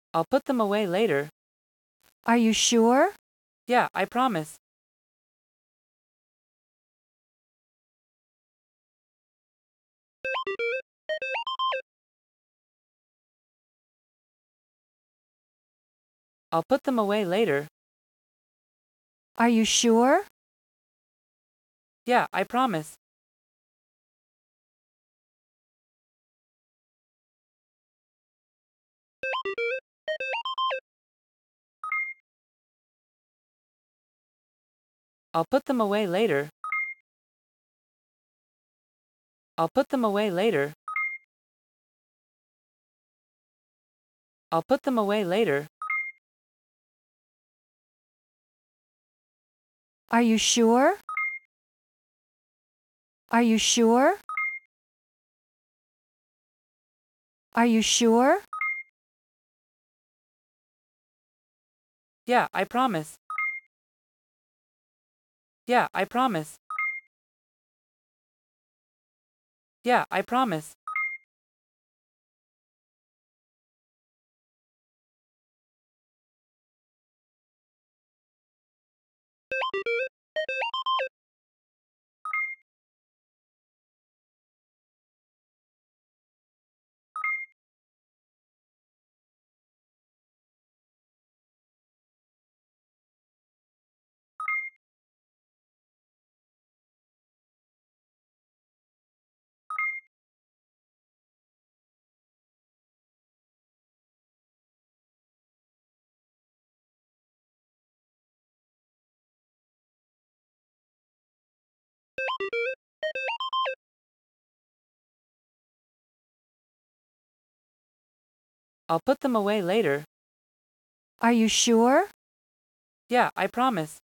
I'll put them away later. Are you sure? Yeah, I promise. I'll put them away later. Are you sure? Yeah, I promise. I'll put them away later. I'll put them away later. I'll put them away later. Are you sure? Are you sure? Are you sure? Yeah, I promise. Yeah, I promise. Yeah, I promise. I'll put them away later. Are you sure? Yeah, I promise.